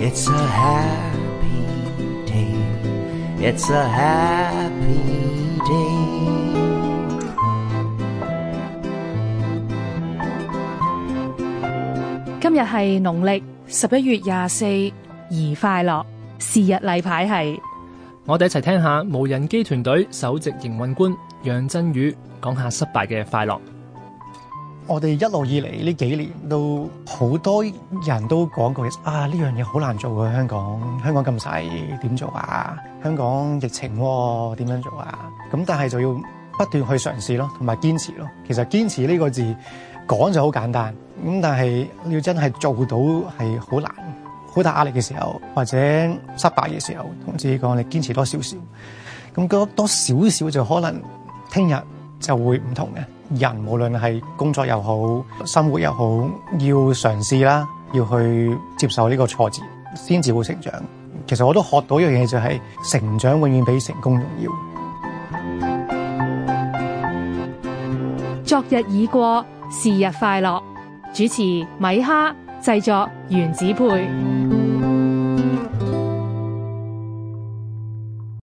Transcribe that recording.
It's a happy day. It's a happy day. 今日係農曆11月24，宜快樂。是日例牌係， 我哋一齊聽下無人機團隊首席營運官楊振宇講下失敗嘅快樂。 我哋一路以嚟呢幾年都好多人都講過啊，呢樣嘢好難做嘅，香港咁細點做啊？香港疫情喎，點樣做啊？咁但係就要不斷去嘗試咯，同埋堅持咯。其實堅持呢個字講就好簡單，咁但係要真係做到係好難。好大壓力嘅時候，或者失敗嘅時候，同自己講你堅持多少少，咁多少少就可能聽日就會唔同嘅。人無論係工作又好，生活又好，要嘗試啦，要去接受呢個挫折，先至會成長。其實我都學到一樣嘢，就係成長永遠比成功重要。 昨日已過，是日快樂。主持米哈，製作原子配。